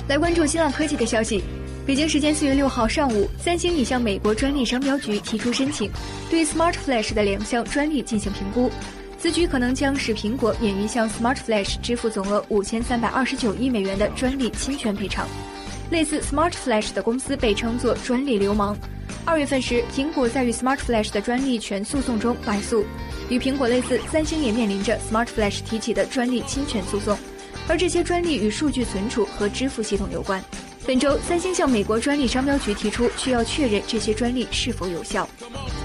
来关注新浪科技的消息。北京时间4月6号上午，三星已向美国专利商标局提出申请，对 Smart Flash 的2项专利进行评估。此举可能将使苹果免于向 Smart Flash 支付总额5329亿美元的专利侵权赔偿。类似 Smart Flash 的公司被称作专利流氓。2月份时，苹果在与 Smart Flash 的专利权诉讼中败诉。与苹果类似，三星也面临着 Smart Flash 提起的专利侵权诉讼。而这些专利与数据存储和支付系统有关。本周，三星向美国专利商标局提出需要确认这些专利是否有效。